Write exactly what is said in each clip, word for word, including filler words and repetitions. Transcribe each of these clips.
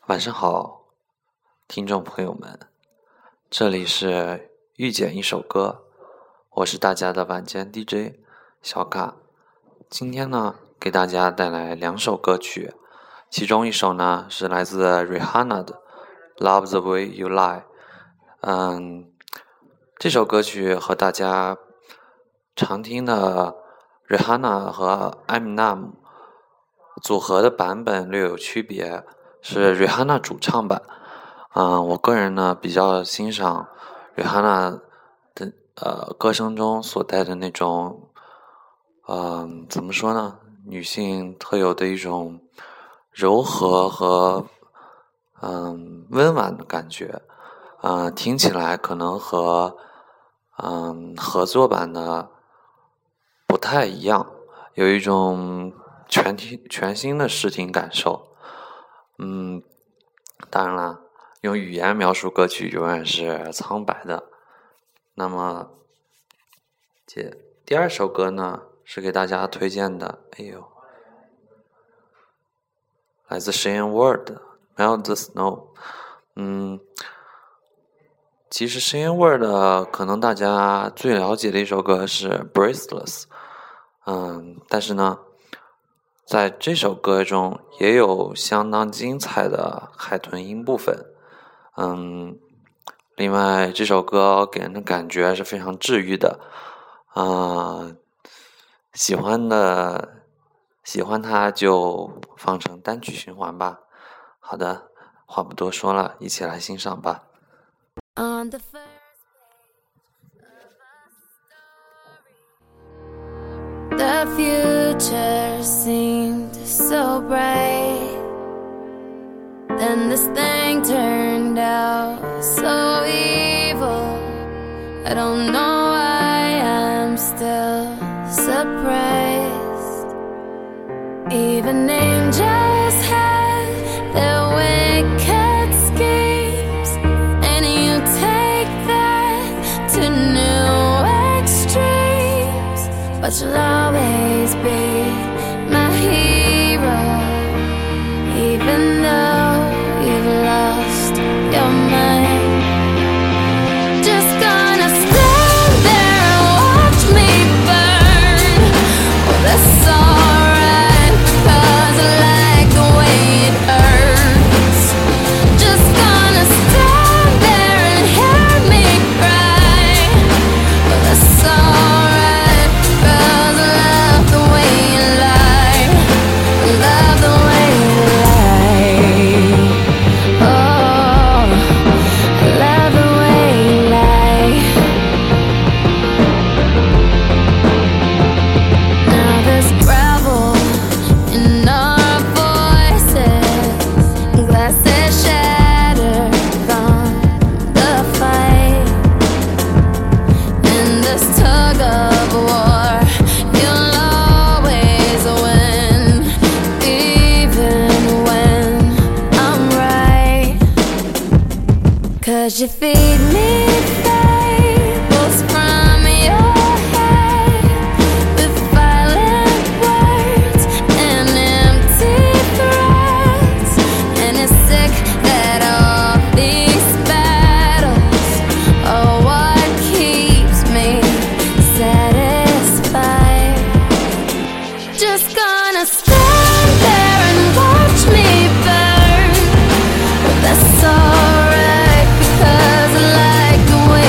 晚上好，听众朋友们，这里是遇见一首歌，我是大家的晚间 D J 小卡。今天呢，给大家带来两首歌曲，其中一首呢是来自 Rihanna 的 Love the Way You Lie。嗯，这首歌曲和大家常听的 Rihanna 和 Eminem 组合的版本略有区别，是 Rihanna 主唱版。嗯，我个人呢比较欣赏 Rihanna 的呃歌声中所带的那种，嗯，怎么说呢？女性特有的一种柔和和嗯温婉的感觉。嗯，听起来可能和嗯合作版的不太一样，有一种全听全新的视听感受。嗯，当然了，用语言描述歌曲永远是苍白的。那么，这第二首歌呢，是给大家推荐的。哎呦，来自 Shane Ward 的 Melt the Snow。嗯，其实 Shane Ward 可能大家最了解的一首歌是 Breathless。嗯，但是呢，在这首歌中也有相当精彩的海豚音部分。嗯，另外这首歌给人的感觉是非常治愈的。嗯，喜欢的喜欢它就放成单曲循环吧。好的，话不多说了，一起来欣赏吧。On the first The future seemed so bright, then this thing turned out so evil. I don't know why I'm still surprised. Even angels had their wicked schemes, and you take that to new extremes. But you'll always be my hero, even though you've lost your mind. Just gonna stand there and watch me burn. Well, that's alright, 'cause I like the way it hurts. Just gonna stand there and hear me cry. Well, that's alright, 'cause I love the way you lie. I love the way you lie. Oh, I love the way you lie. Now there's gravel in our voices, glasses shattered from the fight. In this tug of war, you'll always win, even when I'm right. 'Cause you feed me fables from your head, with violent words and empty threats. And it's sick that all these battles are what keeps me satisfied. Just gonna stand there and watch me burn. But that's alright, because I like the way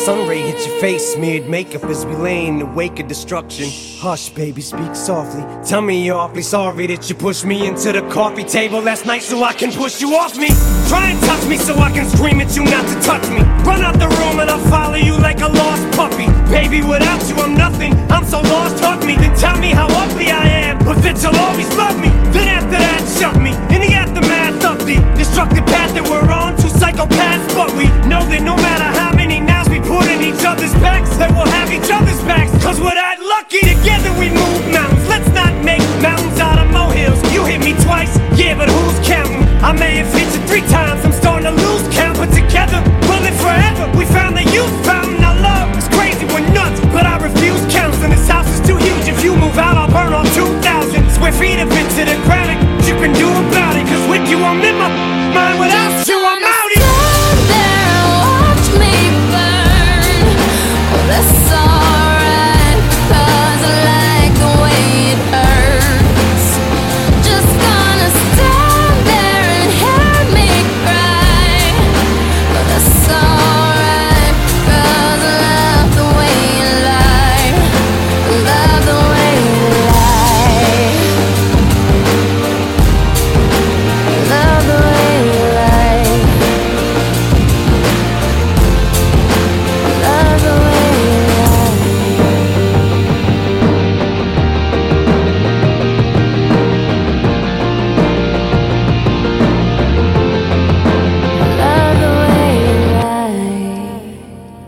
sun ray hit your face, smeared makeup as we lay in the wake of destruction. Hush, baby, speak softly. Tell me you're awfully sorry that you pushed me into the coffee table last night so I can push you off me. Try and touch me so I can scream at you not to touch me. Run out the room and I'll follow you like a lost puppy. Baby, without you I'm nothing, I'm so lost, hug me. Then tell me how ugly I am, but that you'll always love me. Then after that, shove me in the aftermath of the destructive path that we're on. Two psychopaths, but we know that no matter how many nows we put in each other's backs, that we'll have each other's backs, cause we're that lucky. Together we move mountains, let's not make mountains out of molehills. You hit me twice, yeah, but who's counting? I may have hit you three times, I'm starting to lose count, but together we'll live forever. We found the youth fountain, our love is crazy, we're nuts, but I refuse counseling. This house is too huge, if you move out I'll burn all two thousand square feet of it to the ground. You can do about it, cause with you I'm in my mind, without you I'm out here. Stand there and watch me burn. Well, that's alright, cause I like the way it hurts. Just gonna stand there and hear me cry. Well, that's alright, cause I love the way you lie. I love the way you lie. Love the way you lie. Love the way you lie. Love the way you lie.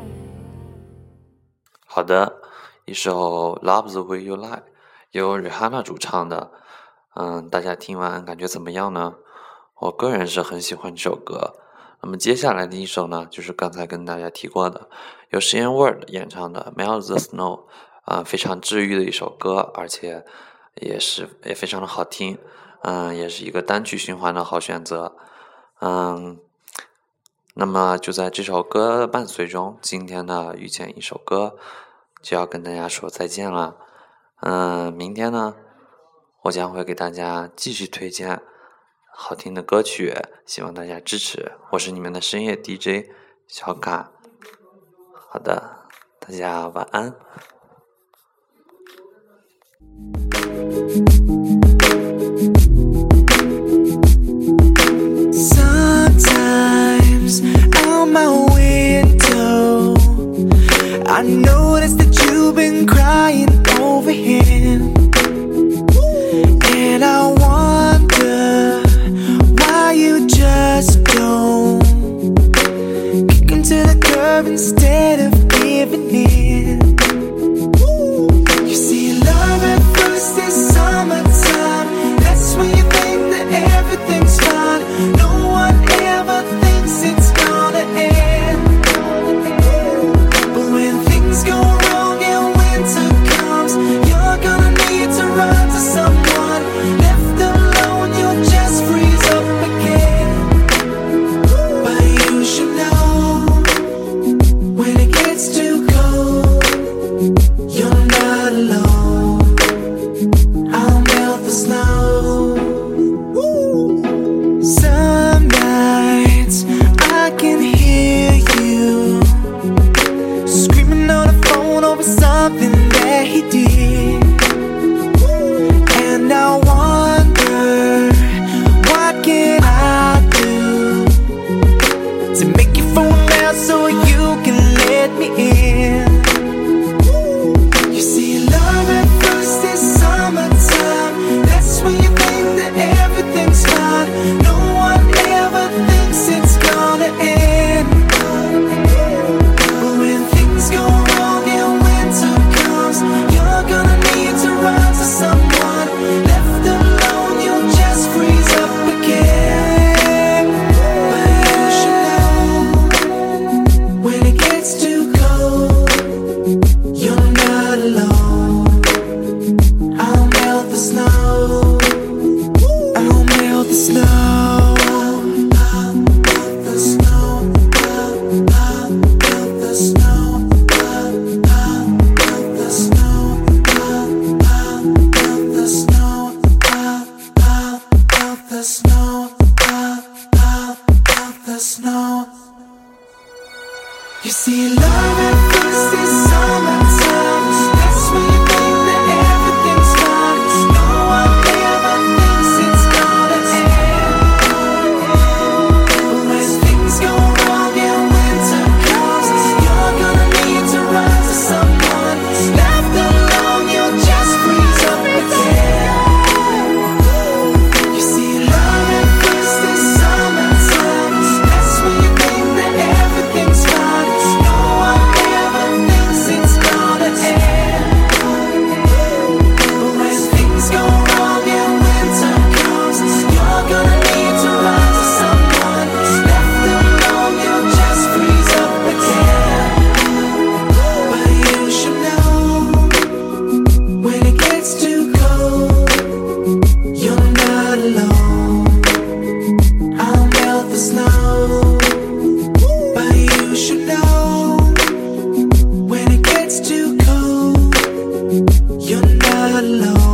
好的，一首《Love the Way You Lie》由 Rihanna 主唱的，嗯，大家听完感觉怎么样呢？我个人是很喜欢这首歌。那么接下来的一首呢，就是刚才跟大家提过的，由 Shane Ward 演唱的《Melt the Snow》，啊、非常治愈的一首歌，而且也是也非常的好听，嗯，也是一个单曲循环的好选择，嗯。那么就在这首歌的伴随中，今天的遇见一首歌就要跟大家说再见了。嗯，明天呢，我将会给大家继续推荐好听的歌曲，希望大家支持。我是你们的深夜 D J 小卡。好的，大家晚安。 Sometimes out my window I notice that you've been crying over him, and I wonder why you just don't kick him to the curb instead of giving in. You see, love at first is summertime. That's when you think that everything's fine. No one ever thinks it's gonna end. But when things go wrong and winter comes, you're gonna need to run to someone. Left alone, you'll just freeze up again. But you should know, when it gets too cold, you're not alone. I'll melt the snow. Some nights I can hear you screaming on the phone over something that he did, and I wonder, what can I do to make you phone out so you can let me in? You see, love alone.